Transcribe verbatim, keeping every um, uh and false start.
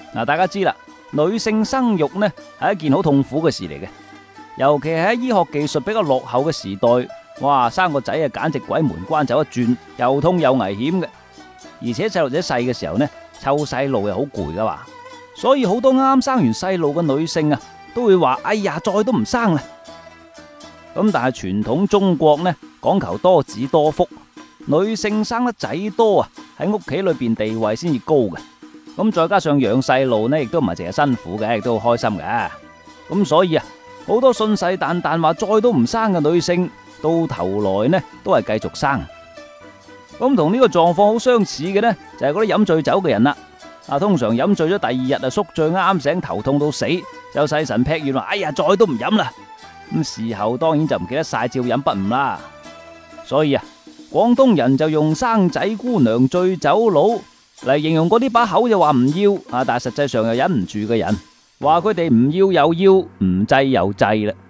嗱，大家知啦，女性生育呢係一件好痛苦嘅事嚟嘅，尤其係喺醫學技術比較落後嘅時代，哇，生個仔啊簡直鬼門關走一轉，又痛又危險嘅。而且細路仔細嘅時候呢，湊細路又好攰噶嘛，所以好多啱生完細路嘅女性啊，都會話：哎呀，再都唔生啦。咁但係傳統中國呢，講求多子多福，女性生得仔多啊，喺屋企裏邊地位先至高嘅。咁再加上養細路呢，亦都唔係淨係辛苦嘅，亦都好開心嘅。咁所以啊，好多信誓旦旦話再都唔生嘅女性，到頭來呢都係繼續生。咁同呢個狀況好相似嘅呢，就係嗰啲飲醉酒嘅人啦。啊，通常飲醉咗第二日啊，宿醉啱醒，頭痛到死，就細神劈完話：哎呀，再都唔飲啦。咁事後當然就唔記得晒，照飲不誤啦。所以啊，廣東人就用生仔姑娘醉酒佬嚟形容嗰啲把口就話唔要啊，但係實際上又忍唔住嘅人，話佢哋唔要又要，唔制又制啦。